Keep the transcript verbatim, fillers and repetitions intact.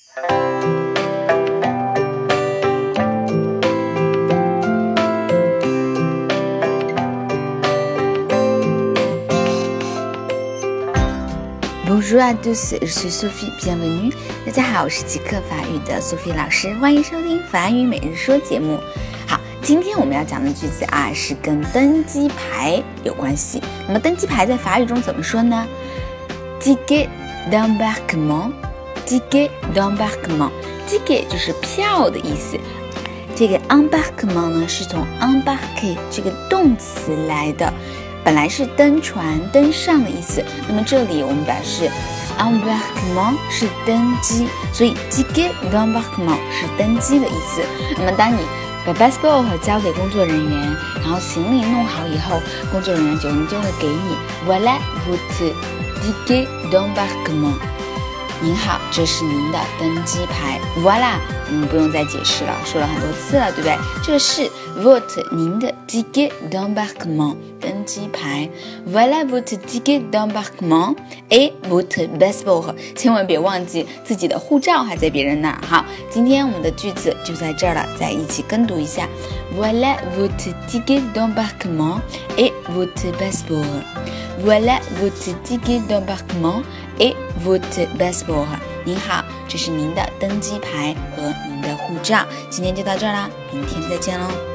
Bonjour à tous, je suis Sophie, bienvenue. 大家好，我是极客法语的 Sophie 老师，欢迎收听法语每日说节目。好，今天我们要讲的句子啊，是跟登机牌有关系。那么登机牌在法语中怎么说呢？ Ticket d'embarquement, ticket d'embarquement, ticket 就是票的意思。这个 embarquement 呢，是从 embarquer 这个动词来的。本来是登船登上的意思，那么这里我们表示 embarquement 是登机，所以 ticket d'embarquement 是登机的意思。那么当你把 passport 交给工作人员，然后行李弄好以后，工作人员就就会给你 voilà votre ticket d'embarquement。您好，这是您的登机牌。Voilà， 我们不用再解释了，说了很多次了，对不对？这个是 votre 您的 ticket d'embarquement 登机牌。Voilà votre ticket d'embarquement et votre passeport。千万别忘记自己的护照还在别人那儿。好，今天我们的句子就在这儿了，再一起跟读一下。Voilà votre ticket d'embarquement et votre passeport。Voilà votre ticket d'embarquement et votre passeport。 您好，这是您的登机牌和您的护照。今天就到这儿啦，明天再见喽。